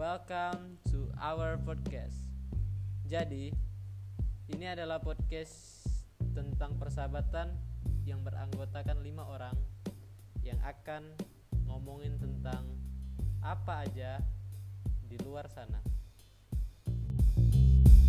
welcome to our podcast. Jadi, ini adalah podcast tentang persahabatan yang beranggotakan 5 orang yang akan ngomongin tentang apa aja di luar sana.